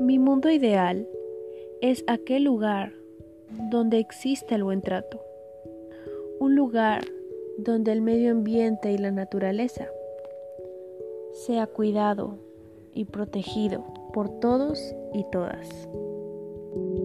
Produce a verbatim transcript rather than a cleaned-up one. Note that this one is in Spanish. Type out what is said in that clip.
Mi mundo ideal es aquel lugar donde existe el buen trato, un lugar donde el medio ambiente y la naturaleza sea cuidado y protegido por todos y todas.